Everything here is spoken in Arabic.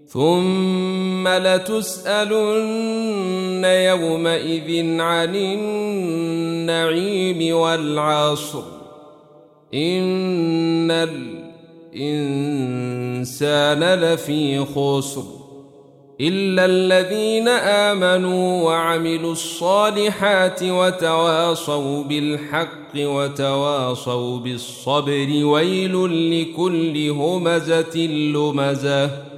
ثم لتسألن يومئذ عن النعيم والعصر إن الإنسان لفي خسر إلا الذين آمنوا وعملوا الصالحات وتواصوا بالحق وتواصوا بالصبر ويل لكل همزة لمزة